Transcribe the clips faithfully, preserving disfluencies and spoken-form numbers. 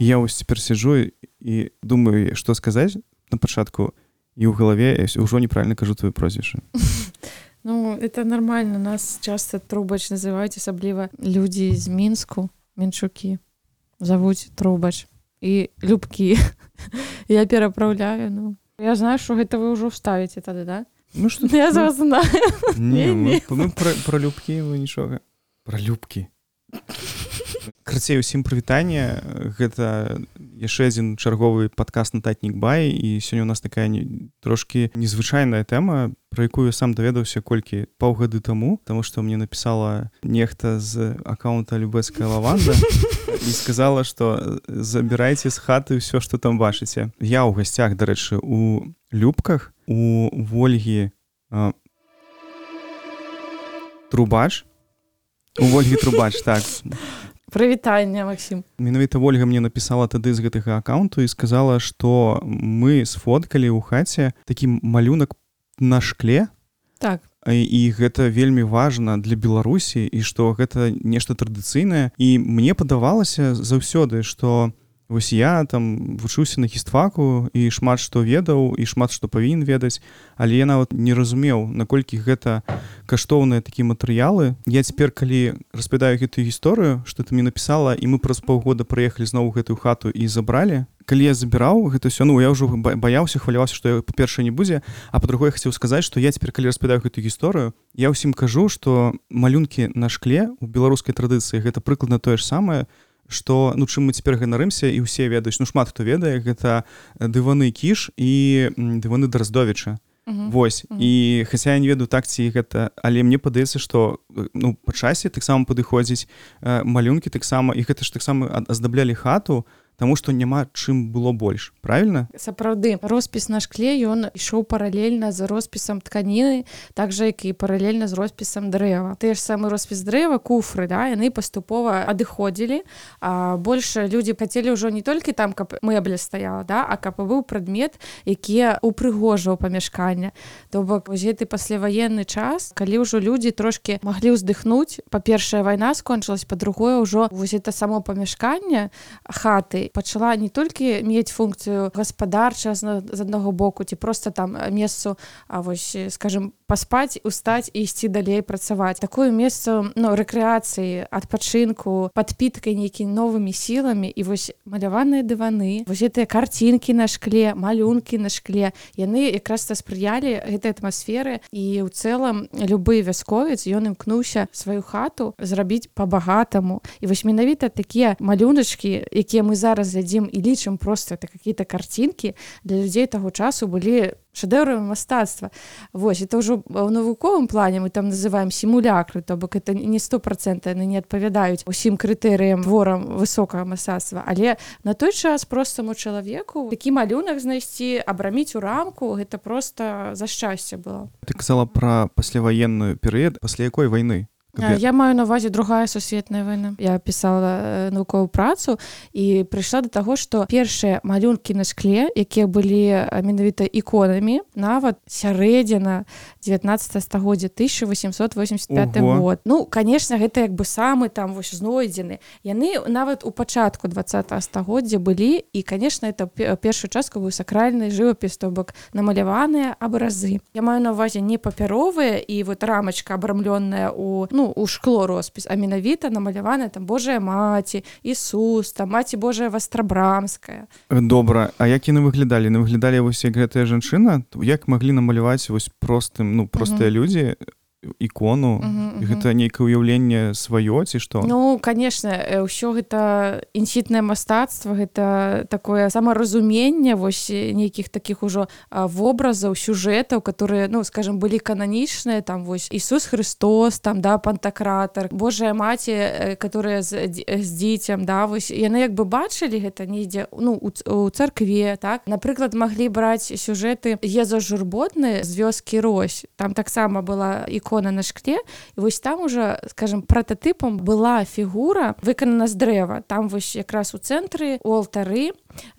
я вось цяпер сиджу і думаю, што сказаць на пачатку, і ў галаве ўжо неправільна кажу твоё прозвішча. Ну, это нормально. Нас часто Трубач называют, особливо люди из Минску, Менчуки, зовут Трубач. И Любки. Я переправляю, ну. Я знаю, что это вы уже вставите тогда, да? Ну, что я вас знаю. Не, мы, мы про, про Любки, мы ничего. Про Любки. Крацей, усім прывітанне. Гэта яшчэ адзін чарговы падкаст «Нататнік бай», і сёння у нас такая не, трошкі незвычайная тэма, про якую я сам даведаўся колькі паўгады таму, таму што мне напісала нехта з аккаунта «Любецкая лаванда» і сказала, што забірайце з хаты ўсё, што там бачыце. Я ў гасцях, дарэчы, у Любках, у Вольгі а, Трубач, у Вольгі Трубач, так. Прывітанне, Максим. Менавіта Вольга мне напісала тады з гэтага аккаунту і сказала, што мы сфоткалі ў хаце такі малюнак на шкле. Так. І, і гэта вельмі важна для Беларусі, і што гэта нешта традыцыйнае. І мне падавалася заўсёды, што вось я там вучыўся на хістфаку і шмат што ведаў, і шмат што павінен ведаць, але я нават не разумеў, наколькі гэта каштоўныя такія матэрыялы. Я цяпер, калі распавядаю гэтую гісторыю, што ты мне напісала, і мы праз паўгода прыехалі зноў у гэтую хату і забралі, калі я забіраў гэта ўсё, ну, я ўжо баяўся, хваляваўся, што па-першае не будзе, а па-другое, хацеў сказаць, што я цяпер, калі распавядаю гэтую гісторыю, я ўсім кажу, што малюнкі на шкле ў беларускай традыцыі гэта прыкладна тое ж самае, што, ну, чым мы цяпер ганарымся, і ўсе ведаюць, ну, шмат хто ведае, гэта дываны Кіш і дываны Драздовіча. Uh-huh. Вось. Uh-huh. І хаця я не ведаю так ці гэта, але мне падаецца, што, ну, па часе таксама падыходзіць малюнкі таксама, і гэта ж таксама аздаблялі хату, таму што няма чым было больш, правільна? Сапраўды, роспіс на шкле, ён ішоў паралельна з роспісам тканіны, так жа, як і паралельна з роспісам дрэва. Ты ж самы роспіс дрэва, куфры, да, яны паступова адыходзілі, а больш людзі хацелі ўжо не толькі там, каб мэбля стаяла, да, а каб быў прадмет, які упрыгожваў памяшканне. То бок, вось гэты пасляваенны час, калі ўжо людзі трошкі маглі ўздыхнуць, па-першае, вайна скончылась, па-другое, ўжо вось гэта само памяшканне хаты пачала не толькі мець функцыю гаспадарча з аднаго боку, ці проста там месцу, а вось, скажем, паспаць, устаць і ісці далей працаваць. Такое месца, ну, рэкрэацыі, адпачынку, падпіткай нейкімі новымі сіламі, і вось маляваныя дываны, вось гэтыя карцінкі на шкле, малюнкі на шкле, яны якраз спрыялі гэтай атмасферы, і ў цэлым любы вясковец, ён імкнуўся сваю хату зрабіць па-багатаму. І вось менавіта такія малюначкі, якія мы зараз глядзім і лічым проста это какие-то картинки, для людзей таго часу былі шэдэўрамі мастацтва. Вось, это ўжо ў навуковым плане мы там называем сімулякры, то бок это не сто процентаў яны не адпавядаюць усім крытэрыям творам высокага мастацтва, але на той час простаму чалавеку такі малюнак знайсці, абраміць у рамку, гэта просто за шчасце было. Ты казала пра пасляваенную перыяд, пасля якой вайны? Я маю на увазе другая сусветная вайна. Я пісала навуковую працу і прыйшла да таго, што першыя малюнкі на шкле, якія былі менавіта іконамі, нават сярэдзіна дзевятнаццатага стагоддзя, тысяча восемьсот восемьдесят пяты год. Ну, конечно, гэта як бы самы там вось знойдзены. Яны нават у пачатку двадцатага стагоддзя былі, і, конечно, это першую частку быў сакральны жывапіс, то бок намаляваныя абразы. Я маю на увазе не папяровыя і вот рамачка абрамлённая у, ну, у шкло роспіс, а менавіта намаляваная там Божая маці, Ісус, там маці Божая Вастрабрамская. Добра, а як яны выглядалі? Яны выглядалі вось як гэтая жанчына? Як маглі намаляваць вось простым, ну, простыя uh-huh. людзі ікону, uh-huh, uh-huh. гэта нейкае ўяўленне сваё, ці што? Ну, конечно, ўсё гэта інсітнае мастацтва, гэта такое самаразуменне вось нейкіх такіх ужо вобразаў, сюжэтаў, которые, ну, скажем, былі кананічныя, там вось Ісус Христос, там, да, Пантакратар, Божая маці, которая з, з дзіцем, да, вось яны як бы бачылі гэта недзе, ну, у, у царкве, так? Напрыклад, маглі браць сюжэты Еза Журботны з вёскі Рось, там таксама была ікона ікона на шкле, і вось там уже, скажем, прататыпам была фігура выканана з дрэва. Там вось якраз у цэнтры у алтары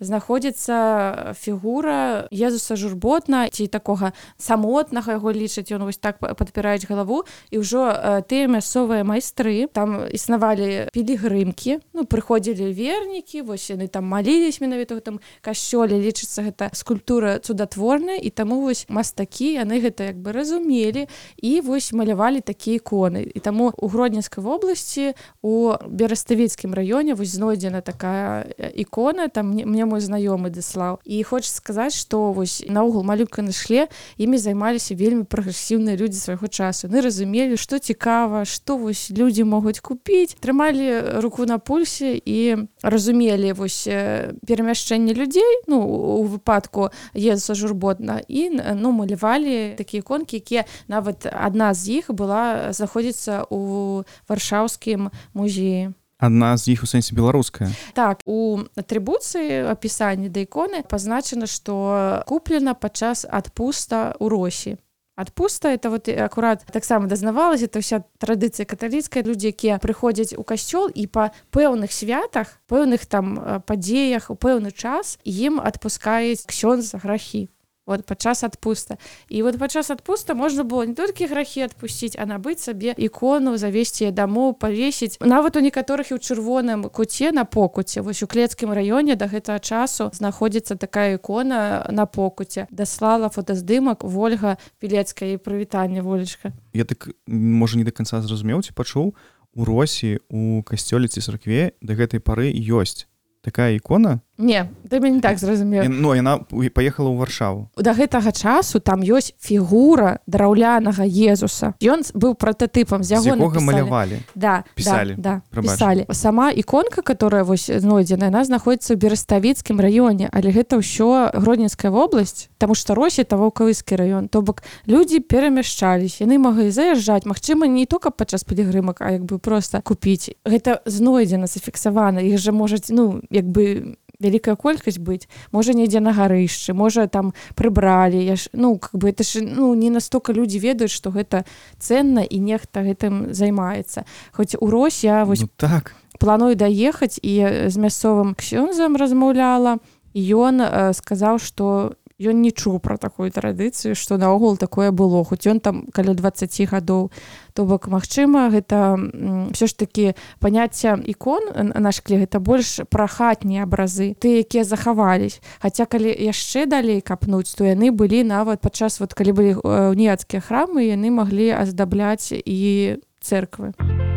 знаходзіцца фігура Езуса журботна, ці такога самотнага яго лічаць, ён вось так падпіраюць галаву, і ўжо э, тыя мясцовыя майстры, там існавалі пілігрымкі, ну, прыходзілі вернікі, вось яны там малілись менавіта ў гэтым касцёле, лічыцца гэта скульптура цудатворная, і таму вось мастакі, яны гэта як бы разумелі, і вось малявалі такія іконы. І таму у Гродненскай вобласці, у Бераставіцкім раёне вось знойдзена такая ікона, там мне мой знаёмы даслаў. І хочацца сказаць, што вось наогул малюнка на шкле імі займаліся вельмі прагрэсіўныя людзі свайго часу. Яны разумелі, што цікава, што вось людзі могуць купіць, трымалі руку на пульсе і разумелі вось перамяшчэнне людзей, ну, у выпадку Езуса журботна, і ну, малявалі такія іконкі, якія нават адна з іх была знаходзіцца у Варшаўскім музеі. Адна з іх у сэнсе беларуская. Так, у атрыбуцыі апісанні да іконы пазначана, што куплена падчас адпуста ў Росі. Адпуста, это вот акурат таксама дазнавалася, это ўся традыцыя каталіцкая, людзі, якія прыходзяць у касцёл і па пэўных святах, пэўных там падзеях, у пэўны час ім адпускаюць ксёндз грахі. Вот падчас адпуста. І вот падчас адпуста можна было не толькі грахі адпусціць, а набыць сабе ікону, завесці яе дамоў, павесіць. Нават у некаторых і ў чырвоным куце на покуце. Вось у Клецкім раёне да гэтага часу знаходзіцца такая ікона на покуце. Даслала фотаздымак Вольга Пілецкая. І прывітанне, Волечка. Я так, можа, не да канца зразумеў, ці пачуў, у Росі, у касцёле ці царкве да гэтай пары ёсць такая ікона? Не, ты мяне не так зразумеў. Ну, яна паехала ў Варшаву. Да гэтага часу там ёсць фігура драўлянага Езуса. Ён быў прататыпам, з яго напісалі. З якога напісалі. малявалі? Да, пісалі. Да, да, Прабач. пісалі. Сама іконка, которая вось знойдзена, яна знаходзіцца ў Бераставіцкім раёне, але гэта ўсё Гродненская вобласць, таму што Рось — это Ваўкавыскі раён. То бок людзі перамяшчаліся, яны маглі заязджаць, магчыма, не толькі падчас пілігрымак, а як бы проста купіць. Гэта знойдзена, зафіксавана. Іх жа можа, ну, як бы вялікая колькасць быць, можа недзе на гарышчы, можа там прыбралі, я ж, ну, как бы это ж, ну, не настолько людзі ведаюць, што гэта цэнна і нехта гэтым займаецца. Хоць у Рось я вось ну, так. планую даехаць і з мясцовым ксёндзам размаўляла, і ён э, сказаў, што ён не чуў пра такую традыцыю, што наогул такое было, хоць ён там каля дваццаць гадоў. То бок, магчыма, гэта ўсё ж такі паняцце ікон на шкле, гэта больш пра хатнія абразы, тыя, якія захавались. Хаця калі яшчэ далей капнуць, то яны былі нават падчас, вот, калі былі уніяцкія храмы, яны маглі аздабляць і цэрквы.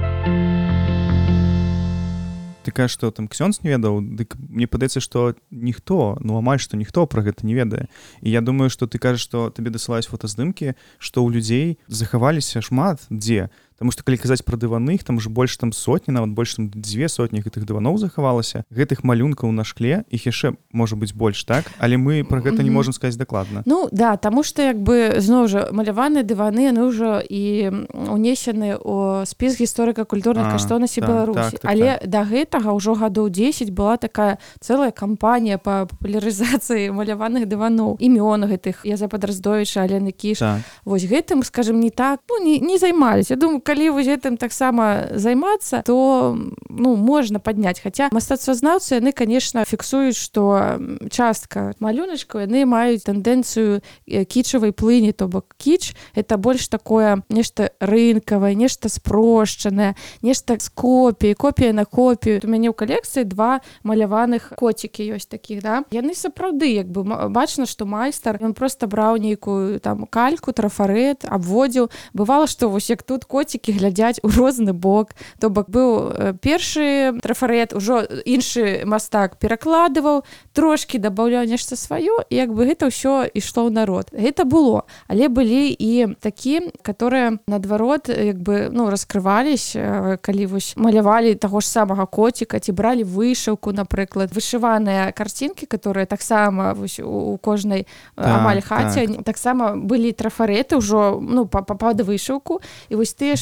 Ты кажаш, што там ксёндз не ведаў, дык мне падаецца, што ніхто, ну амаль што ніхто пра гэта не ведае. І я думаю, што ты кажаш, што табе дасылаюць фотаздымкі, што ў людзей захаваліся шмат дзе. Таму што калі казаць пра дываны, там уже больш там сотні, нават больш там дзве сотні гэтых дываноў захавалася. Гэтых малюнкаў на шкле, іх яшчэ можа быць больш, так? Але мы пра гэта не можам сказаць дакладна. Ну, да, таму што як бы зноў жа маляваныя дываны, яны ўжо і унесены ў спіс гісторыка-культурных каштоўнасцей так, Беларусі. так, так, Але так. да гэтага ўжо гадоў дзесяць была такая цэлая кампанія па папулярызацыі маляваных дываноў. Імён гэтых Язэпа Драздовіча, Алены Кіш. Так. Вось гэтым, скажем, не так, ну, не, не займаліся. Я думаю, калі вось гэтым таксама займацца, то ну, можна падняць. Хаця мастацтвазнаўцы, яны, конечно, фіксуюць, што частка малюначкаў, яны маюць тэндэнцыю кічавай плыні, то бок кіч — это больш такое нешта рынкавае, нешта спрошчанае, нешта з копіяй, копія на копію. У мяне ў калекцыі два маляваных коцікі ёсць такіх, да? Яны сапраўды, як бы бачна, што майстар, ён проста браў нейкую там кальку, трафарэт, абводзіў. Бывала, што вось як тут коцікі глядзяць у розны бок. То бок быў э, першы трафарэт, ужо іншы мастак перакладываў, трошкі дабаўляў нешта сваё, і як бы гэта ўсё ішло ў народ. Гэта было. Але былі і такі, которые наадварот як бы ну, раскрывались, э, калі вось малявалі таго ж самага коціка, ці бралі вышыўку, напрыклад, вышываныя карцінкі, которые таксама вось у, у кожнай так, амаль хаце, так. таксама былі трафарэты ўжо ну, па, па, пад вышыўку, і вось тыя ж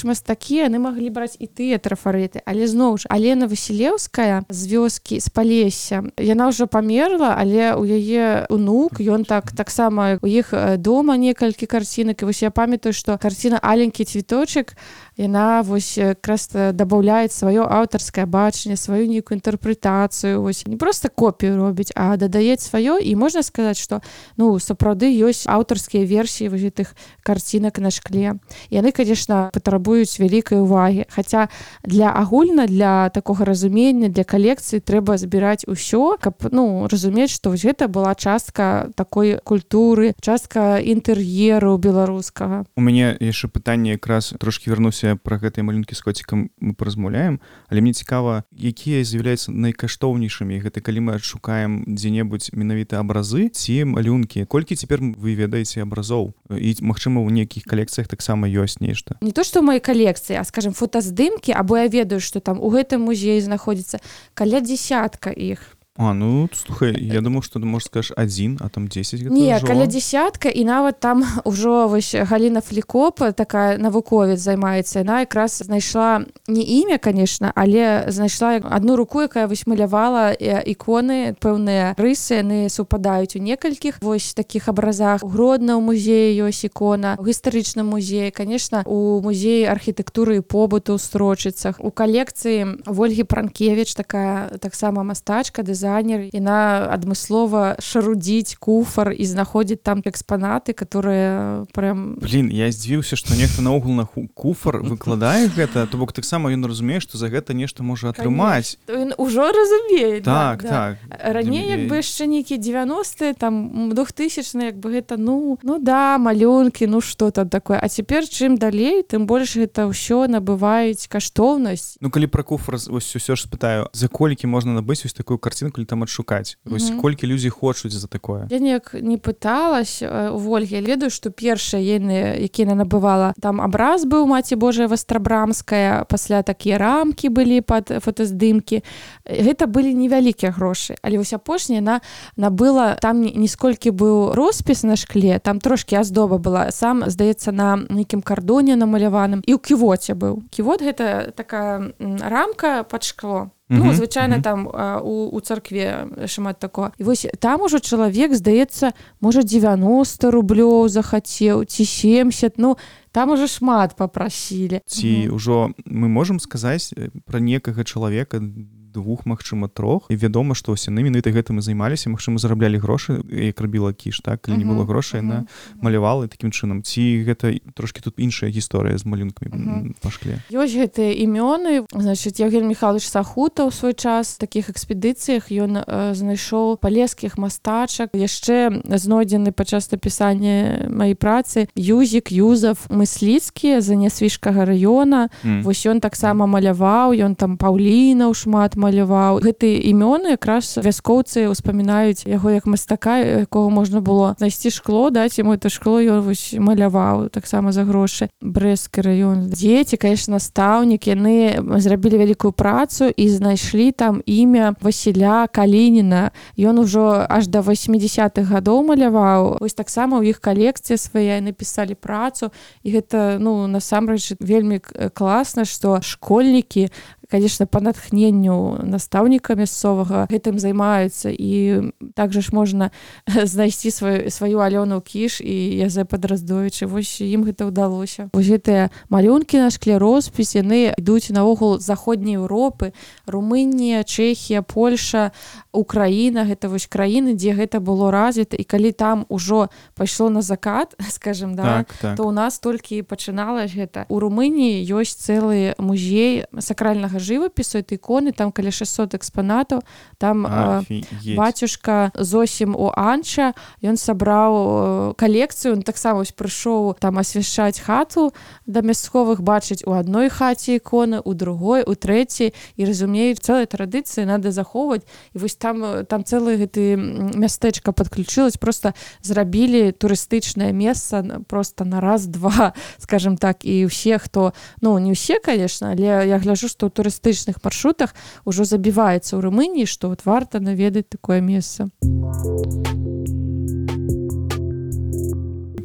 ж мастакі, яны маглі браць і тыя трафарэты, але зноў ж Алена Васілеўская з вёскі з Палесся, яна ўжо памерла, але у яе унук, ён так таксама у іх дома некалькі карцінак, і вось я памятаю, што карціна «Аленькі цвіточак», яна вось якраз дабаўляе сваё аўтарскае бачанне, сваю нейкую інтэрпрэтацыю, вось не проста копію робіць, а дадае сваё, і можна сказаць, што ну сапраўды ёсць аўтарскія версіі вось гэтых карцінак на шкле. Яны, конечно, патрабуюць вялікай увагі, хаця для агульна, для такога разумення, для калекцыі трэба збіраць усё, каб ну разумець, што вось гэта была частка такой культуры, частка інтэр'еру беларускага. У мяне яшчэ пытанне, якраз трошки вярнуся пра гэтыя малюнкі з коцікам мы паразмаўляем, але мне цікава, якія з'яўляюцца найкаштоўнейшымі, гэта калі мы адшукаем дзе-небудзь менавіта абразы ці малюнкі. Колькі цяпер вы ведаеце абразоў? І, магчыма, у нейкіх калекцыях таксама ёсць нешта. Не то, што ў маёй калекцыі, а, скажем, фотаздымкі, або я ведаю, што там у гэтым музеі знаходзіцца каля дзесятка іх. А, ну, слухай, я думаў, што ты, можа, скажаш адзін, а там дзесяць. Не, каля дзесятка, і нават там ужо вось Галіна Флікоп, такая навуковец займаецца, яна якраз знайшла не імя, конечно, але знайшла адну руку, якая вось малявала іконы, пэўныя рысы, яны супадаюць у некалькіх вось такіх абразах. У Гродна ў музеі ёсць ікона, у гістарычным музеі, конечно, у музеі архітэктуры і побыту ў Строчыцах. У калекцыі Вольгі Пранкевіч, такая таксама мастачка, дызайнер, яна адмыслова шарудзіць куфар і знаходзіць там экспанаты, которые прям... Блин, я здзівіўся, што нехта наогул на куфар выкладае гэта, то бок таксама ён разумее, што за гэта нешта можа атрымаць. Ён ужо разумее. Так, да, так. Да. Раней як бы яшчэ нейкія дзевяностыя, там двухтысячныя, як бы гэта, ну, ну да, малюнкі, ну што там такое. А цяпер чым далей, тым больш гэта ўсё набываюць каштоўнасць. Ну, калі пра куфар вось усё ж спытаю, за колькі можна набыць вось такую карцінку там адшукаць? Вось Mm-hmm. колькі людзей хочуць за такое? Я неяк не пыталась у Вольгі. Я ведаю, што першыя яны, які яна набывала, там абраз быў Маці Божая Вастрабрамская, пасля такія рамкі былі пад фотаздымкі. Гэта былі невялікія грошы. Але вось апошняя яна набыла, там не сколькі быў роспіс на шкле, там трошкі аздоба была. Сам, здаецца, на нейкім кардоне намаляваным. І ў ківоце быў. Ківот — гэта такая рамка пад шкло. Ну, Mm-hmm. звычайна mm-hmm. там а, у, у царкве шмат такого. І вось там ужо чалавек, здаецца, можа дзевяноста рублёў захацеў, ці семьдесят, ну, там уже шмат папрасілі. Ці mm-hmm. ўжо мы можам сказаць пра некага чалавека, двух, магчыма, трох, і вядома, што ўсе менавіта гэтым і займаліся, магчыма, зараблялі грошы, як рабіла Кіш, так? Калі uh-huh, не было грошай, яна uh-huh. малявала такім чынам. Ці гэта трошкі тут іншая гісторыя з малюнкамі uh-huh. па шкле? Ёсць гэтыя імёны. Значыць, Евген Михайлович Сахута ў свой час в такіх экспедыцыях ён э, знайшоў палескіх мастачак. Яшчэ знойдзены падчас напісання маёй працы Юзік, Юзаф, Мысліцкі з Нясвіжскага раёна. Mm. Вось ён таксама маляваў, ён там Паўлінаў шмат маляваў. Гэтыя імёны якраз вяскоўцы ўспамінаюць яго як мастака, якога можна было знайсці шкло, даць яму это шкло, ён вось маляваў таксама за грошы. Брэсцкі раён. Дзеці, конечно, настаўнікі, яны зрабілі вялікую працу і знайшлі там імя Васіля Калініна. Ён ужо аж да восьмідзесятых гадоў маляваў. Вось таксама ў іх калекцыя свая, напісалі працу. І гэта, ну, насамрэч вельмі класна, што школьнікі, конечно, па натхненню настаўніка мясцовага гэтым займаюцца, і также ж можна знайсці сваю, сваю Алёну Кіш і Язэпа Драздовіча. Вось ім гэта ўдалося. Вось гэтыя малюнкі на шкле, роспіс, яны ідуць наогул з заходняй Еўропы, Румынія, Чэхія, Польша, Украіна, гэта вось краіны, дзе гэта было развіта, і калі там ужо пайшло на закат, скажем, да, так, так. то ў нас толькі пачыналася гэта. У Румыніі ёсць цэлы музей сакральнага жывапісу, это іконы, там каля шэсцьсот экспанатаў, там а, бацюшка Зосім у Анча, ён сабраў калекцыю, он таксама вось прыйшоў там асвяшчаць хату да мясцовых, бачыць у адной хаце іконы, у другой, у трэцяй, і разумеюць, цэлай традыцыі надо захоўваць. І вось там, там цэлае гэты мястэчка падключылась, просто зрабілі турыстычнае месца просто на раз-два, скажем так, і ўсе, хто, ну, не ўсе, конечно, але я гляджу, што ў турыстычных маршрутах ужо забіваецца ў Румыніі, што вот варта наведаць такое месца.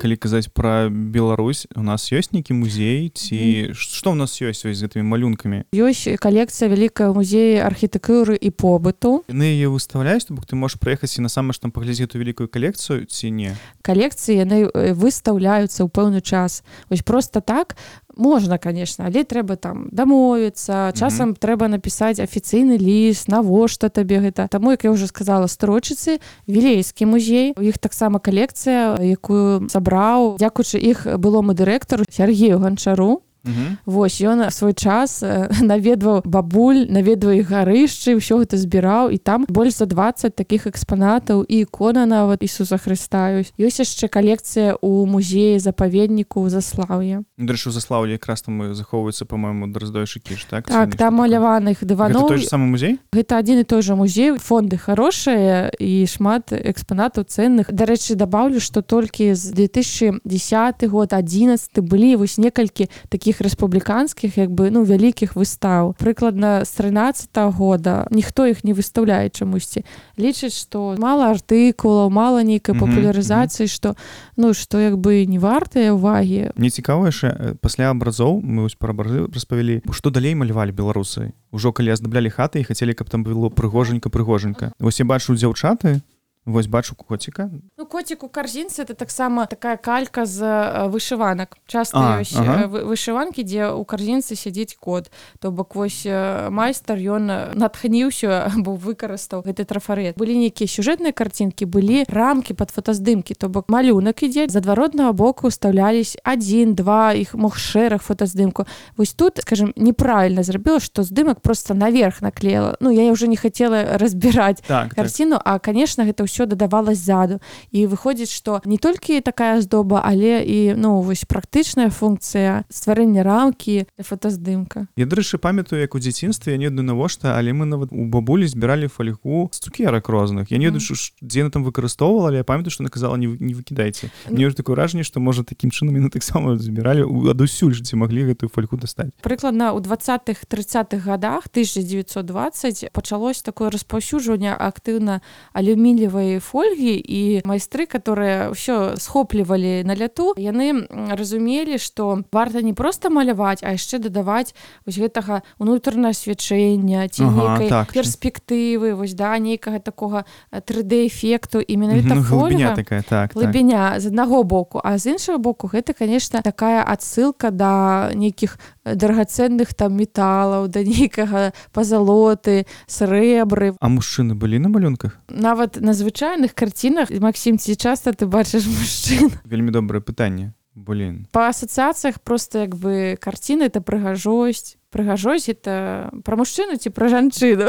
калі казаць пра Беларусь, у нас ёсць нейкі музей ці mm. што ў нас ёсць з гэтымі малюнкамі? Ёсць калекцыя вялікая ў музеі архітэктуры і побыту. Яны яе выставляюць, то бок ты можаш прыехаць і насамрэч там паглядзець эту вялікую калекцыю ці не? Калекцыі яны выстаўляюцца ў пэўны час. Вось проста так можна, конечно, але трэба там дамовіцца, часам mm-hmm. трэба напісаць афіцыйны ліст, навошта табе гэта. Таму, як я ўжо сказала, Строчыцы, Вілейскі музей, у іх таксама калекцыя, якую сабраў, дзякуючы іх былому дырэктару Сергею Ганчару. Uh-huh. Вось, ён свой час наведваў бабуль, наведваў іх гарышчы, ўсё гэта збіраў, і там больш за дваццаць такіх экспанатаў і ікона нават Ісуса Хрыста ёсць. Ёсць яшчэ калекцыя ў музеі запаведніку ў Заслаўе. Дарэчы, у Заслаўлі якраз там захоўваюцца, па-мойму, Драздоўшы кіш, так? Так, там маляваных дываноў. Гэта той же самы музей? Гэта адзін і той жа музей. Фонды хорошыя і шмат экспанатаў ценных. Дарэчы, дабаўлю, што толькі з две тысячи дзесяты год, адзінаццаты былі вось некалькі такіх рэспубліканскіх, як бы, ну, вялікіх выстаў. Прыкладна з трынаццатага года ніхто іх не выстаўляе чамусьці. Лічаць, што мала артыкулаў, мала нейкай mm-hmm. папулярызацыі, што, ну, што як бы не вартая ўвагі. Мне цікава яшчэ, пасля абразоў, мы вось пра абразы распавялі, што далей малявалі беларусы? Ужо калі аздаблялі хаты і хацелі, каб там было прыгожанька-прыгожанька. Вось я бачу дзяўчаты, вось бачу коціка. Ну, котик у карзінцы — это таксама такая калька з вышыванак. Часта ёсць ага. вышыванкі, дзе у карзінцы сядзіць кот. То бок вось майстар, ён натхніўся або выкарыстаў гэты трафарэт. Былі нейкія сюжэтныя карцінкі, былі рамкі пад фотаздымкі, то бок малюнак ідзе, з адваротнага боку ўстаўлялись адзін, два, іх мог шэраг фотаздымку. Вось тут, скажем, неправільна зрабіла, што здымак проста наверх наклеіла. Ну, я ўжо не хацела разбіраць так, карціну, так. а, конечно, гэта ўсё дадавалось ззаду. І выходзіць, што не толькі такая здоба, але і, ну, вось практычная функцыя стварэння рамкі для фотаздымка. Я, дарэчы, памятаю, як у дзяцінстве, я не ведаю навошта, але мы нават у бабулі збіралі фольгу з цукерак розных. Я не ведаю, mm. дзе яна там выкарыстоўвала, але я памятаю, што яна казала, не, не выкідайце. Mm. Мне ўжо такое ўражанне, што, можа, такім чынам яны таксама збіралі адусюль, ці маглі гэтую фольгу дастаць. Прыкладна ў двадцатых трыццатых гадах тысяча дзевяцьсот двадцаць пачалось такое распаўсюджванне актыўна алюмініевай фольгі, і майстры, которые ўсё схоплівалі на ляту, яны разумелі, што варта не проста маляваць, а яшчэ дадаваць вось гэтага ўнутранае асвячэння ці ага, нейкай так, перспектывы, вось, да, нейкага такога тры дэ-эфекту, і менавіта ну, фольга, такая, так, глыбіня так. З аднаго боку, а з іншага боку гэта, конечно, такая адсылка да нейкіх дарагацэнных там металаў, да нейкага пазалоты, срэбры. А мужчыны былі на малюнках? Нават на звычайных карцінах, Максім, ці часта ты бачыш мужчын? Вельмі добрае пытанне. Блин. Па асацыяцыях проста як бы карціна — это прыгажосць. Прыгажосць — это пра мужчыну ці пра жанчыну?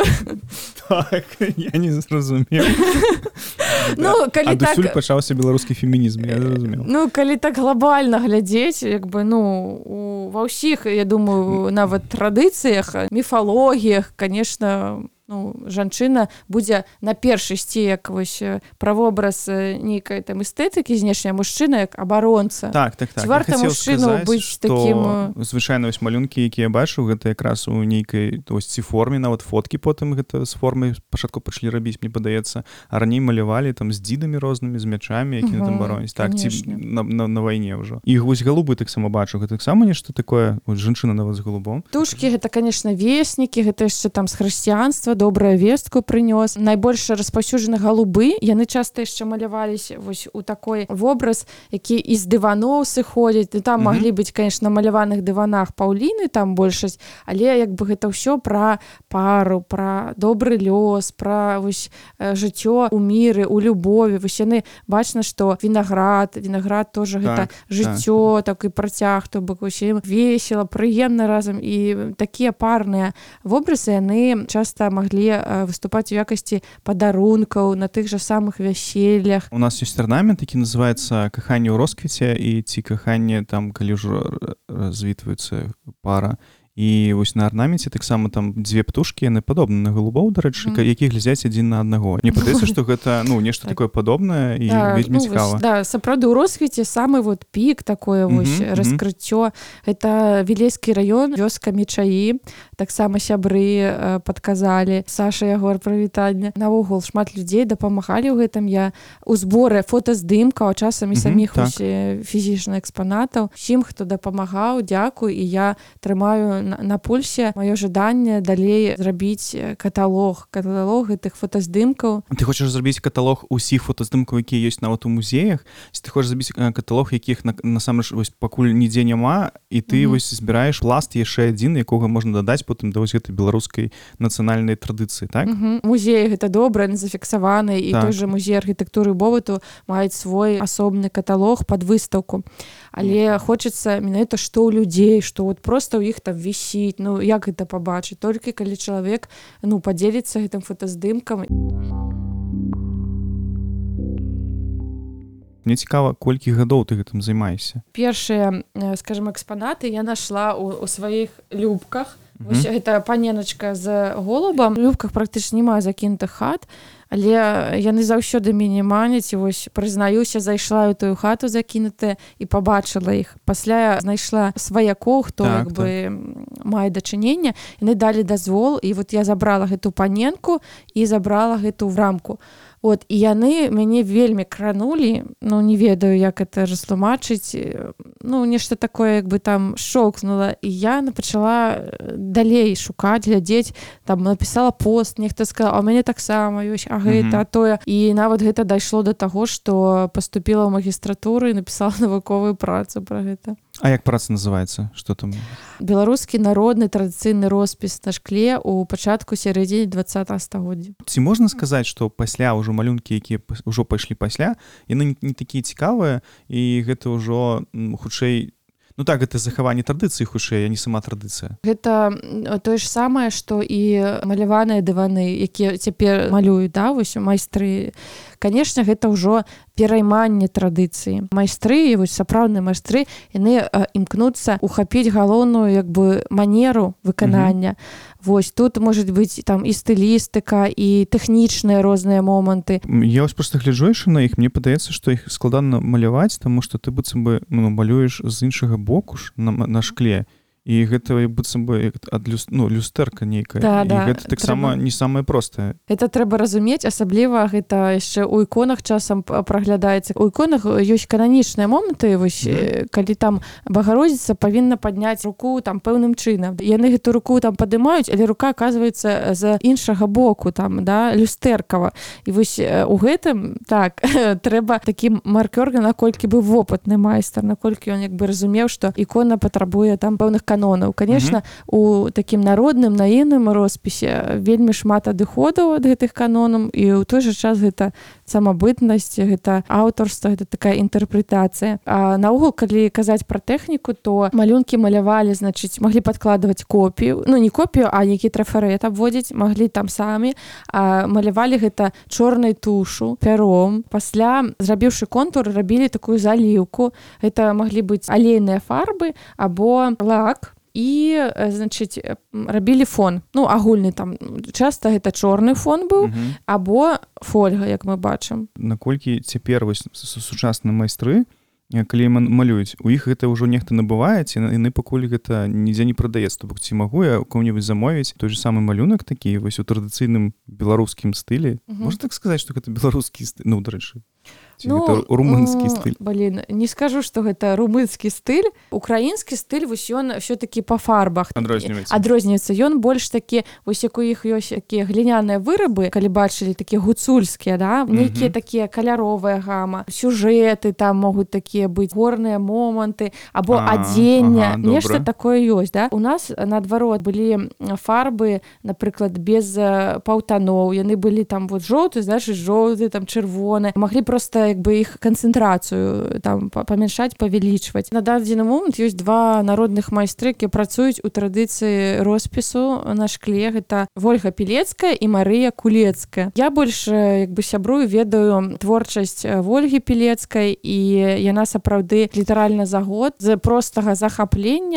Так, я не зразумеў. Ну, калі так... Адусюль пачаўся беларускі фемінізм, я зразумеў. Ну, калі так глобальна глядзець, як бы, ну, ва ўсіх, я думаю, нават традыцыях, міфалогіях, конечно, ну, жанчына будзе на першы ісці як вось правобраз нейкай там эстэтыкі знешняй, мужчына як абаронца. Так, так, так. Ці варта мужчыну быць такім... Звычайна вось малюнкі, якія я бачыў, гэта якраз у нейкай вось ці форме, нават фоткі потым гэта з формы спачатку пачалі рабіць, мне падаецца, а раней малявалі там з дзідамі рознымі, з мячамі, якія там бароняць. Так, ці на, на, на вайне ўжо. І вось галубы таксама бачу, гэта таксама нешта такое, вось жанчына нават з галубом. Тушкі гэта, конечно, веснікі, гэта яшчэ там з хрысціянства, добрая вестку прынёс. Найбольш распаўсюджаны галубы, яны часта яшчэ маляваліся вось у такой вобраз, які з дываноў сыходзіць. І там mm-hmm. маглі быць, конечно, на маляваных дыванах паўліны, там большасць, але як бы гэта ўсё пра пару, пра добры лёс, пра вось жыццё у міры, у любові. Вось яны бачна, што вінаград, вінаград тоже так, гэта жыццё, так. такі працяг, то бок вось ім весела, прыемна разам. І такія парныя вобразы яны часта маглі выступаць у якасці падарункаў на тых жа самых вяселлях. У нас ёсць арнамент, які называецца «Каханне ў росквіце», і ці каханне там, калі ўжо развітваецца пара. і вось на арнаменце таксама там дзве птушкі, яны падобны на голубоў, дарэчы, mm. які глядзяць адзін на аднаго. Мне падаецца, што гэта ну нешта такое падобнае і да, вельмі ну, цікава. Да, сапраўды ў росквіце самы вот пік такое вось mm-hmm, раскрыццё. Mm-hmm. Это Вілейскі раён, вёска Мечаі, таксама сябры э, падказалі. Саша, Ягор, прывітанне. Наогул шмат людзей дапамагалі ў гэтым. Я у зборы фотаздымкаў, а часам і саміх mm-hmm, так. фізічных экспанатаў. Усім, хто дапамагаў, дзякуй, і я трымаю на, на пульсе маё жаданне далей зрабіць каталог, каталог гэтых фотаздымкаў. Ты хочаш зрабіць каталог усіх фотаздымкаў, якія ёсць нават у музеях? Ці ты хочаш зрабіць каталог, якіх на, насамрэч вось пакуль нідзе няма, і ты mm-hmm. вось збіраеш пласт яшчэ адзін, якога можна дадаць потым да вось гэтай беларускай нацыянальнай традыцыі, так? Mm-hmm. Музеі гэта добра, зафіксаваны, і так. той жа музей архітэктуры і побыту маюць свой асобны каталог пад выстаўку. Але mm-hmm. хочацца менавіта што ў людзей, што вот проста ў іх там вісіць, ну як гэта пабачыць, толькі калі чалавек ну падзеліцца гэтым фотаздымкам. Мне цікава, колькі гадоў ты гэтым займаешся? Першыя, скажем, экспанаты я нашла ў, у сваіх любках. Mm-hmm. Вось гэта паненачка з голубам. У любках практычна няма закінутых хат, але яны заўсёды мяне маняць, і вось прызнаюся, зайшла ў тую хату закінутая і пабачыла іх. Пасля я знайшла сваякоў, хто так, як бы так. мае дачыненне, яны далі дазвол, і вот я забрала гэту паненку і забрала гэту рамку. Вот, і яны мяне вельмі кранулі, ну не ведаю, як это растлумачыць, ну нешта такое, як бы там шокнула, і я пачала далей шукаць, глядзець, там напісала пост, нехта сказала, а ў мяне таксама ёсць, а гэта, а тое, і нават гэта дайшло да таго, што паступіла ў магістратуру і напісала навуковую працу пра гэта. А як праца называецца? Што там? Беларускі народны традыцыйны роспіс на шкле ў пачатку сярэдзіне двадцатага стагоддзя. Ці можна сказаць, што пасля ўжо малюнкі, якія ўжо пайшлі пасля, яны не такія цікавыя, і гэта ўжо хутчэй ну так, гэта захаванне традыцыі хутчэй, а не сама традыцыя. Гэта тое ж самае, што і маляваныя дываны, якія цяпер малююць, да, вось майстры. Канешне, гэта ўжо перайманне традыцыі. Майстры, вось сапраўдныя майстры, яны э, імкнуцца ухапіць галоўную як бы манеру выканання. Mm-hmm. Вось тут можа быць там і стылістыка, і тэхнічныя розныя моманты. Я вось проста гляджу яшчэ на іх, мне падаецца, што іх складана маляваць, таму што ты быццам бы ну, малюеш з іншага боку ж на, на шкле. І гэта быццам бы ад люс, ну, люстэрка нейкая. Да, і да, гэта таксама не самае простае. Гэта трэба разумець, асабліва гэта яшчэ ў іконах часам праглядаецца. У іконах ёсць кананічныя моманты, вось, mm. калі там Багародзіца павінна падняць руку там пэўным чынам. Яны гэту руку там падымаюць, але рука аказваецца з іншага боку, там, да, люстэркава. І вось у гэтым, так, трэба такі маркёр, наколькі бы вопытны майстар, наколькі ён як бы разумеў, што ікона патрабуе там пэўных канонаў. Конечно, mm-hmm. у такім народным, наіўным роспісе вельмі шмат адыходаў ад гэтых канонаў, і ў той жа час гэта самабытнасць, гэта аўтарства, гэта такая інтэрпрэтацыя. А наогул, калі казаць пра тэхніку, то малюнкі малявалі, значыць, маглі падкладваць копію, ну не копію, а які трафарэт абводзіць, маглі там самі, а малявалі гэта чорнай тушу, пяром. Пасля, зрабіўшы контур, рабілі такую заліўку. Гэта маглі быць алейныя фарбы або лак, і, значыць, рабілі фон. Ну, агульны там. Часта гэта чорны фон быў, uh-huh. або фольга, як мы бачым. Наколькі цяпер вось сучасныя майстры, калі малююць, у іх гэта ўжо нехта набываецца, і яны пакуль гэта нідзе не прадаецца. То бок, ці магу я кому-нибудь замовіць той же самы малюнак такі, вось у традыцыйным беларускім стылі. Uh-huh. Можна так сказаць, што гэта беларускі стыль? Ну, дарэчы. Ці ну, гэта румынскі стыль? Блін, не скажу, што гэта румынскі стыль. Украінскі стыль, вось ён ўсё-такі па фарбах. Адрозніваецца. Адрозніваецца. Ён больш такі, вось як у іх ёсць такія гліняныя вырабы, калі бачылі, такія гуцульскія, да? Нейкія uh-huh. такія каляровая гама, сюжэты там могуць такія быць, горныя моманты, або а, адзення. Ага, нешта такое ёсць, да? У нас, наадварот, былі фарбы, напрыклад, без паўтаноў. Яны былі там вот жоўты, значыць, жоўты, там чырвоны. Маглі проста як бы іх канцэнтрацыю там памяншаць, павялічваць. На дадзены момант ёсць два народных майстры, якія працуюць у традыцыі роспісу на шкле. Гэта Вольга Пілецкая і Марыя Кулецкая. Я больш як бы сябрую, ведаю творчасць Вольгі Пілецкай, і яна сапраўды літаральна за год з простага захаплення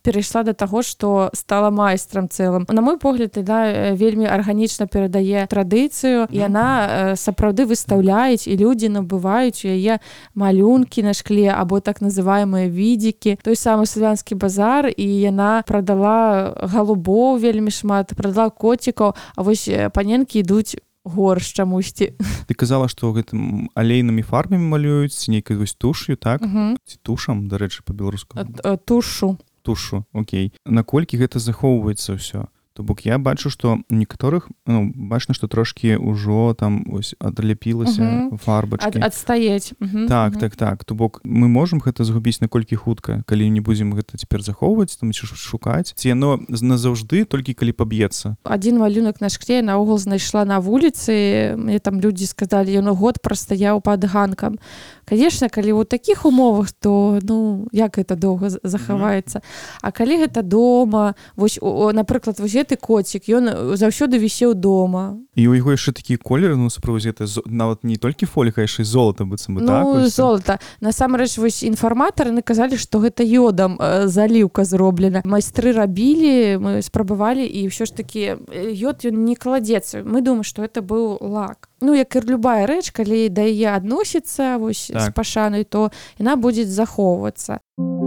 перайшла да таго, што стала майстрам цэлым. На мой погляд, да, вельмі арганічна перадае традыцыю, і яна сапраўды выстаўляюць, і людзі набываюць у яе малюнкі на шкле або так называемыя відзікі. Той самы славянскі базар, і яна прадала галубоў вельмі шмат, прадала коцікаў, а вось паненкі ідуць горш чамусьці. Ты казала, што гэтым алейнымі фарбамі малююць, ці нейкай вось тушью, так? Угу. Ці тушам, дарэчы, па-беларуску? Тушу. Тушу, окей. Наколькі гэта захоўваецца ўсё? То бок я бачу, што у некаторых, ну, бачна, што трошкі ўжо там ось адляпілася uh-huh. фарбачкі. Ад, адстаець. Uh-huh. Так, uh-huh. так, так. То бок мы можам гэта згубіць наколькі хутка, калі не будзем гэта цяпер захоўваць, там ці шукаць. Ці яно назаўжды толькі калі паб'ецца. Адзін малюнак на шкле наогул знайшла на вуліцы. Мне там людзі сказалі, ён год прастаяў пад ганкам. Конечно, калі ў такіх умовах, то, ну, як гэта доўга захаваецца. Uh-huh. А калі гэта дома, вось, о, напрыклад, вось гэты коцік, ён заўсёды вісеў дома. І ў яго яшчэ такія колеры, ну, сапраўдзе, гэта нават не толькі фоліка, яшчэ і золата, быццам бы, ну, так? Ну, золата. Насамрэч, вось інфарматары наказалі, што гэта йодам э, заліўка зроблена. Майстры рабілі, мы спрабавалі, і ўсё ж такі йод, ён не кладзецца. Мы думаем, што гэта быў лак. Ну, як і любая рэч, калі да яе адносіцца вось, так. з пашанай, то яна будзе захоўвацца.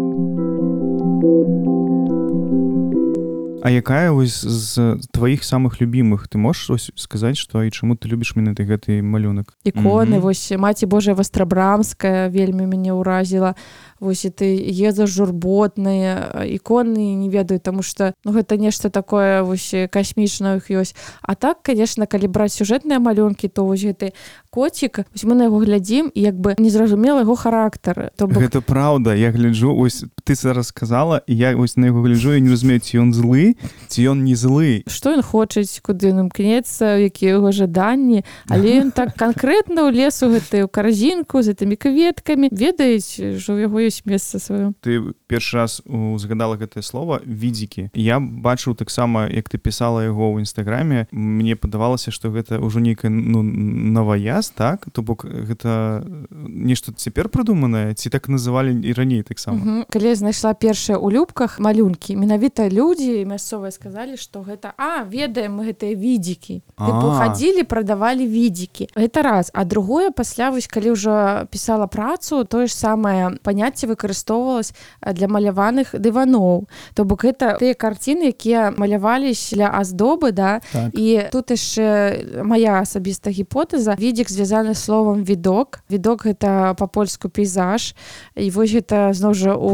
А якая вось з тваіх самых любімых? Ты можаш ось сказаць, што і чаму ты любіш менавіта гэты малюнак? Іконы, mm-hmm. вось Маці Божая Вастрабрамская вельмі мяне ўразіла. Вось ты еза журботныя іконы, не ведаю, таму што ну, гэта нешта такое вось касмічнае іх ёсць. А так, конечно, калі браць сюжэтныя малюнкі, то вось гэты коцік, вось мы на яго глядзім і як бы незразумела яго характар. То бок... Гэта праўда, я гляджу, ось ты зараз сказала, і я ось на яго гляджу і не разумею, ці ён злы, ці ён не злы. Што ён хочаць, куды ён імкнецца, якія яго жаданні, але ён так канкрэтна ўлез у гэтую карзінку з гэтымі кветкамі. Ведаюць, што ў яго ёсць месца сваё. Ты першы раз узгадала гэтае слова відзікі. Я бачыў таксама, як ты пісала яго ў інстаграме, мне падавалася, што гэта ўжо нейкая ну, новаяз, так? То бок гэта нешта цяпер прыдуманае, ці так называлі і раней таксама? Угу. Калі я знайшла першыя ў любках малюнкі, менавіта людзі мясцовыя сказалі, што гэта, а, ведаем мы гэтыя відзікі. Тыпу хадзілі, прадавалі відзікі. Гэта раз. А другое, пасля, вось, калі ўжо пісала працу, тое ж самае паняцце выкарыстоўвалася для маляваных дываноў. То бок гэта тыя карціны, якія малявались для аздобы, да? Так. І тут яшчэ моя асабістая гіпотэза. Відзік звязаны словам відок. Відок гэта па-польску пейзаж. І вось гэта зноў жа у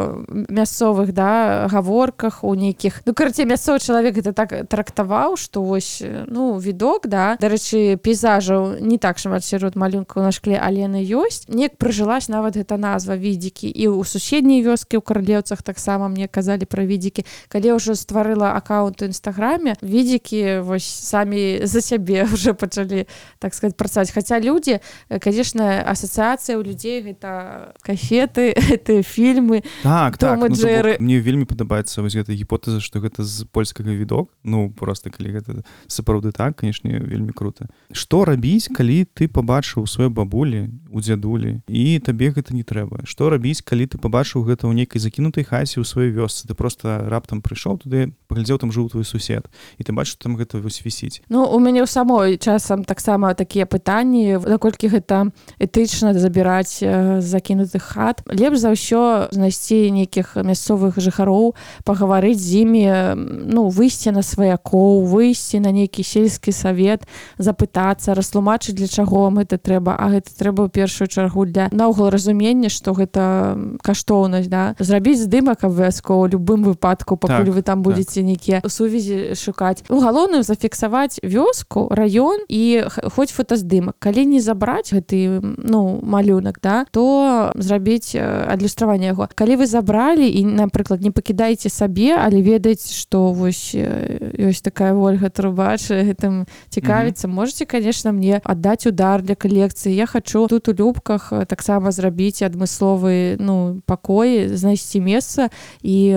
мясцовых, да, гаворках, у нейкіх. Ну, карацей, мясцовы чалавек гэта так трактаваў, што вось, ну, відок, да. Дарэчы, пейзажаў не так шмат сярод малюнкаў на шкле, але яны ёсць. Неяк прыжылась нават гэта назва відзікі. І ў суседняй вёскі, ў Карлеўцах таксама мне казалі пра відзікі. Калі ўжо стварыла аккаунт у інстаграме, відзікі вось самі за сябе ўжо пачалі, так сказаць, працаваць. Хаця людзі, канешне, асацыяцыя ў людзей гэта кафеты, гэтыя фільмы, так, Том так. і Джэры. Ну, мне вельмі падабаецца вось гэта гіпотэза, што гэта з польскага відок. Ну, проста калі гэта сапраўды так, канешне, вельмі крута. Што рабіць, калі ты пабачыў сваёй бабулі, у дзядулі, і табе гэта не трэба? Што рабіць, калі ты пабачыў гэта ў нейкай закінутай хаце ў сваёй вёсцы? Ты проста раптам прыйшоў туды, паглядзеў, там жыў твой сусед, і ты бачыш, там гэта вось вісіць. Ну, у мяне ў самой часам таксама такія пытанні, наколькі гэта этычна забіраць з закінутых хат. Лепш за ўсё знайсці нейкіх мясцовых жыхароў, пагаварыць з імі, ну, выйсці на сваякоў, выйсці на нейкі сельскі савет, запытацца, растлумачыць, для чаго вам гэта трэба, а гэта трэба ў першую чаргу для наогул разумення, што гэта каштоўнасць, да? Зрабіць здымак абавязкова ў любым выпадку, пакуль так, вы там будзеце так. нейкія сувязі шукаць. Ну, галоўнае зафіксаваць вёску, раён і хоць фотаздымак. Калі не забраць гэты, ну, малюнак, да, то зрабіць адлюстраванне яго. Калі вы забралі і, напрыклад, не пакідаеце сабе, але ведаеце, што вось ёсць такая Ольга Трубач, гэтым цікавіцца, mm-hmm. можете, конечно, мне аддаць удар для калекцыі. Я хачу тут у любках таксама зрабіць адмысловы, ну, пакой, знайсці месца і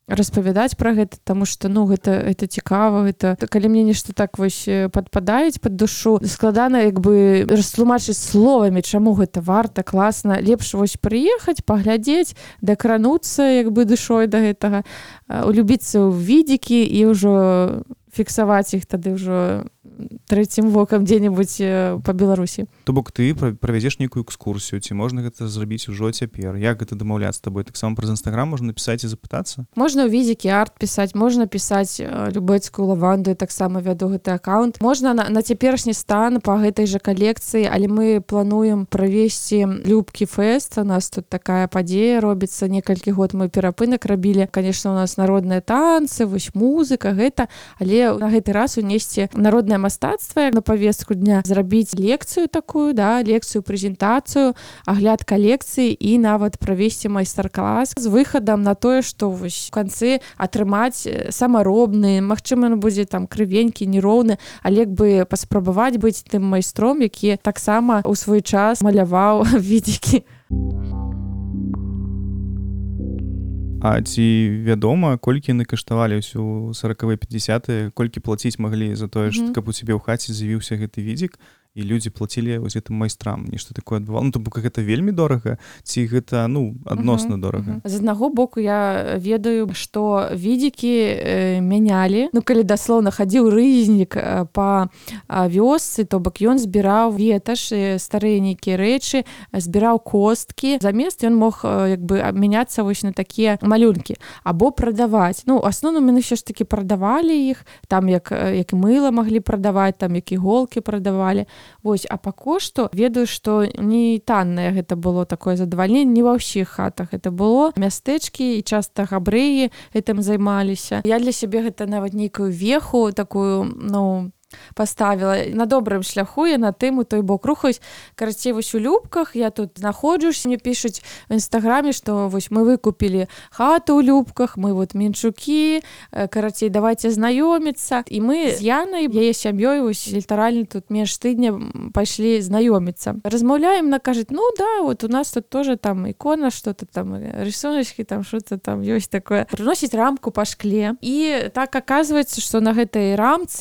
распавядаць пра гэта, таму што ну гэта это цікава, гэта калі мне нешта так вось падпадаюць пад душу, складана як бы растлумачыць словамі, чаму гэта варта, класна, лепш вось прыехаць, паглядзець, дакрануцца як бы душой да гэтага, улюбіцца ў відзікі і ўжо фіксаваць іх тады ўжо трэцім вокам дзе-небудзь па Беларусі. То бок ты правядзеш нейкую экскурсію, ці можна гэта зрабіць ужо цяпер? Як гэта дамаўляцца з табой? Таксама праз Інстаграм можна напісаць і запытацца? Можна ў відзікі арт пісаць, можна пісаць любецкую лаванду, я таксама вяду гэты аккаунт. Можна на, на цяперашні стан па гэтай жа калекцыі, але мы плануем правесці Любкі фэст. У нас тут такая падзея робіцца, некалькі год мы перапынак рабілі. Конечно, у нас народныя танцы, вось музыка, гэта, але на гэты раз унесці народнае мастацтва на павестку дня, зрабіць лекцыю такую, да, лекцыю, прэзентацыю, агляд калекцыі і нават правесці майстар-клас з выхадам на тое, што вось у канцы атрымаць самаробны, магчыма, ён будзе там крывенькі, нероўны, але як бы паспрабаваць быць тым майстром, які таксама ў свой час маляваў відзікі. А ці вядома, колькі яны каштавалі ўсё сорокавыя пятьдесятыя, колькі плаціць маглі за тое, mm-hmm. каб у цябе ў хаце з'явіўся гэты відзік, і людзі плацілі вось гэтым майстрам, нешта такое адбывало. Ну, то бок гэта вельмі дорага, ці гэта, ну, адносна uh-huh, дорага? Uh-huh. З аднаго боку я ведаю, што відзікі э, мянялі. Ну, калі даслоўна хадзіў рызнік э, па э, вёсцы, то бок ён збіраў веташ, э, старыя нейкія рэчы, збіраў косткі. Замест ён мог э, як бы абмяняцца вось на такія малюнкі або прадаваць. Ну, асноўным яны ўсё ж такі прадавалі іх, там як, як мыла маглі прадаваць, там як іголкі прадавалі. Вось, а па кошту ведаю, што не таннае гэта было такое задавальненне, не ва ўсіх хатах гэта было. Мястэчкі і часта габрэі гэтым займаліся. Я для сябе гэта нават нейкую веху такую, ну, паставіла на добрым шляху, я на тым у той бок рухаюсь. Карацей, вось у Любках я тут знаходжусь, мне пішуць в Інстаграме, што вось мы выкупілі хату ў Любках, мы вот менчукі, карацей, давайте знаёміцца. І мы з Янай, яе сям'ёй, вось літаральна тут менш тыдня пайшлі знаёміцца. Размаўляем, она кажет, ну да, вот у нас тут тоже там ікона, что-то там, рисуночки, там что-то там ёсць такое. Прыносіць рамку па шкле. І так аказваецца, што на гэтай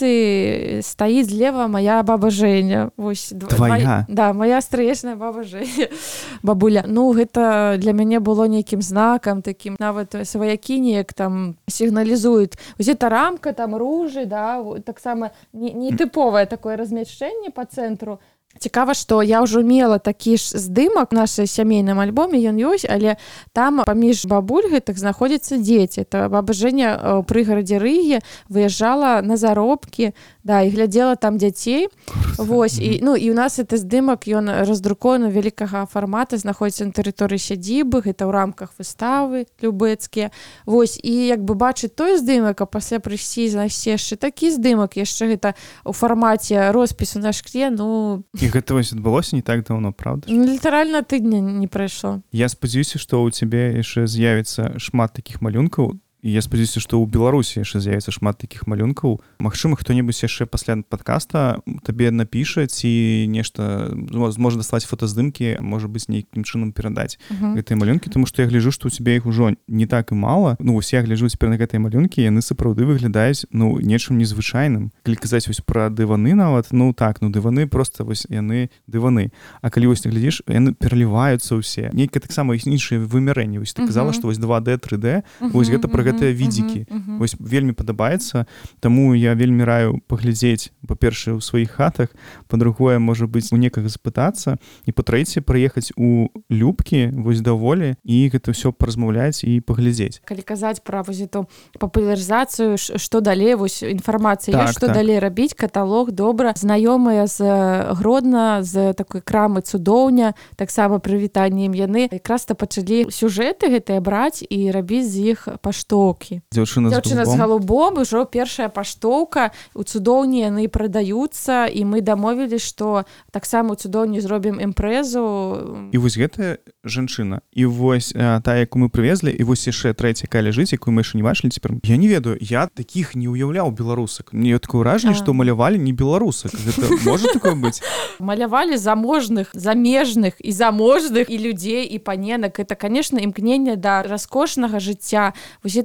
рамцы стаіць злева моя баба Женя. Вось, твоя? Да, моя стрыечная баба Женя. Бабуля. Ну, гэта для мяне было нейкім знакам, такім, нават сваякі неяк там сігналізуюць. Вось эта рамка, там ружы, да, таксама нетыповае такое размяшчэнне па цэнтру. Цікава, што я ўжо мела такі ж здымак у нашай сямейным альбоме, ён ёсць, але там паміж бабуль гэтых знаходзяцца дзеці. Это баба Женя ў прыгарадзе Рыгі выязджала на заробкі, да, і глядзела там дзяцей. Вось, і, ну, і у нас гэты здымак, ён раздрукоўаны вялікага фармата, знаходзіцца на тэрыторыі сядзібы, гэта ў рамках выставы любэцкія. Вось, і як бы бачыць той здымак, а пасля прыйсці і знайсці яшчэ такі здымак, яшчэ гэта ў фармаце роспісу на шкле, ну... І гэта вось адбылося не так даўно, правда? Ну, літаральна тыдня не прайшло. Я спадзяюся, што ў цябе яшчэ з'явіцца шмат такіх малюнкаў, і я спадзяюся, што ў Беларусі яшчэ з'явіцца шмат такіх малюнкаў. Магчыма, хто-небудзь яшчэ пасля падкаста табе напіша ці нешта, можа даслаць фотаздымкі, можа быць, нейкім чынам перадаць uh-huh. гэтыя малюнкі, тому што я гляджу, што ў цябе іх ужо не так і мала. Ну, вось я гляджу цяпер на гэтыя малюнкі, яны сапраўды выглядаюць, ну, нечым незвычайным. Калі казаць вось пра дываны нават, ну так, ну дываны проста вось яны дываны. А калі вось ты глядзіш, яны пераліваюцца ўсе. Нейкае таксама іншыя вымярэнні. Вось ты казала, uh-huh. што вось два дэ, тры дэ, uh-huh. вось гэта пра гэтыя відзікі. Uh-huh, uh-huh. Вось вельмі падабаецца, таму я вельмі раю паглядзець, па-першае, у сваіх хатах, па-другое, можа быць, у некага запытацца, і па-трэцяе, прыехаць у Любкі, вось даволі, і гэта ўсё паразмаўляць і паглядзець. Калі казаць пра вось эту папулярызацыю, што далей, вось інфармацыя, так, што так. далей рабіць, каталог, добра. Знаёмыя з Гродна, з такой крамы Цудоўня, таксама прывітаннем яны якраз-то пачалі сюжэты гэтыя браць і рабіць з іх паштоўкі. Дзяўчына, Дзяўчына з галубом, ужо першая паштоўка, у Цудоўні яны прадаюцца, і мы дамовілі, што таксама у Цудоўні зробім імпрэзу. І вось гэтая жанчына, і вось а, та, якую мы прывезлі, і вось яшчэ трэця, якая ляжыць, якую мы яшчэ не бачылі цяпер. Я не ведаю, я такіх не ўяўляў беларусак. Мне такое ўражанне, што малявалі не беларусак. Гэта можа такое быць? Малявалі заможных, замежных і заможных і людзей, і паненак. Это, конечно, імкненне да раскошнага жыцця. Вось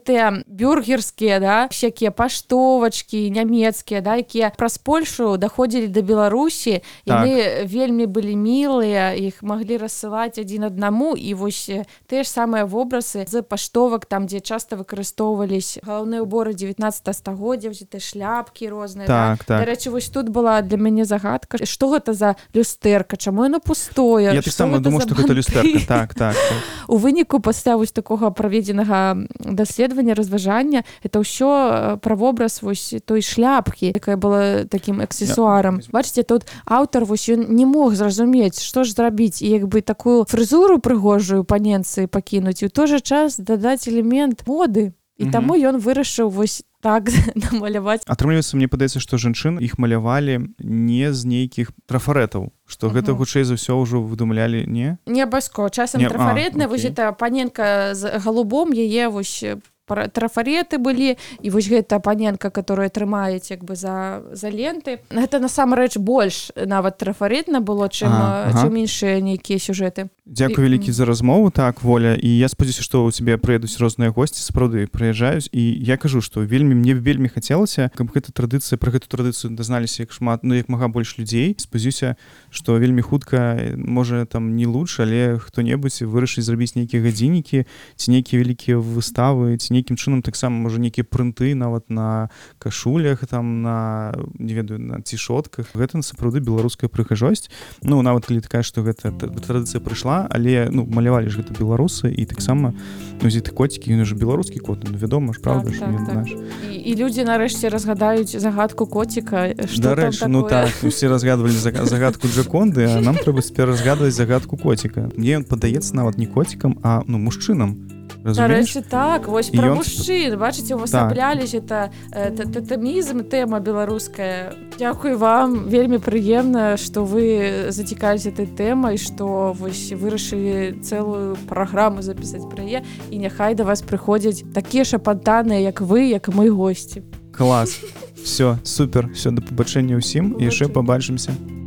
гэтыя бюргерскія, да, всякія паштовачкі нямецкія, да, якія праз Польшу даходзілі да Беларусі, яны так. вельмі былі мілыя, іх маглі рассылаць адзін аднаму, і вось тыя ж самыя вобразы з паштовак, там, дзе часта выкарыстоўвались галаўныя ўборы дзевятнаццатага стагоддзя, тыя шляпкі розныя. Так, да? так. Дарэчы, вось тут была для мяне загадка, што гэта за люстэрка, чаму яно пустое? Я таксама думаю, што гэта люстэрка. Так, так, так. У выніку пасля вось такога праведзенага даследавання, разважання, это ўсё пра вобраз вось той шляпкі, якая была такім аксесуарам. Я... Бачыце, тут аўтар вось ён не мог зразумець, што ж зрабіць, і як бы такую фрызуру прыгожую паненцы пакінуць, і ў той жа час дадаць элемент моды. І угу. таму ён вырашыў вось так намаляваць. Атрымліваецца, мне падаецца, што жанчын іх малявалі не з нейкіх трафарэтаў, што угу. гэта хутчэй за ўсё ўжо выдумлялі, не? Не абавязкова. Часам трафарэтная, вось гэта паненка з галубом, яе вось трафареты былі, і вось гэта паненка, которая трымаюць як бы за, за ленты. Гэта насамрэч больш нават трафаретна было, чым, ага, чым ага. іншыя нейкія сюжэты. Дзякую вялікі за размову, так, Воля, і я спадзяюся, што ў цябе прыедуць розныя госці, сапраўды прыязджаюць, і я кажу, што вельмі мне вельмі хацелася, каб гэта традыцыя, пра гэту традыцыю дазналіся як шмат, ну як мага больш людзей. Спадзяюся, што вельмі хутка, можа там не лучш, але хто-небудзь вырашыць зрабіць нейкія гадзіннікі, ці нейкія вялікія выставы, ці нейкім чынам таксама можа нейкія прынты нават на кашулях, там на, не ведаю, на цішотках. Гэта сапраўды беларуская прыгажосць. Ну нават калі такая, што гэта традыцыя прыйшла, але ну малявалі ж гэта беларусы, і таксама ну ці ты коцікі, ён ж беларускі кот, ну вядома ж, правда ж, так, так, так. І, і людзі нарэшце разгадаюць загадку коціка, што там такое. Ну так, усе разгадвалі загадку Джаконды, а нам трэба цяпер разгадваць загадку коціка. Мне ён падаецца нават не коцікам, а ну мужчынам. Дарэчы, так, вось пра мужчын, бачыце, увасаблялись, это татамізм, тэма беларуская. Дзякуй вам, вельмі прыемна, што вы зацікавілись этой тэмай, што вось вырашылі цэлую праграму запісаць пра яе, і няхай да вас прыходзяць такія шапантаныя, як вы, як мы госці. Клас. Все, супер, все, да пабачэння ўсім, і яшчэ пабачымся.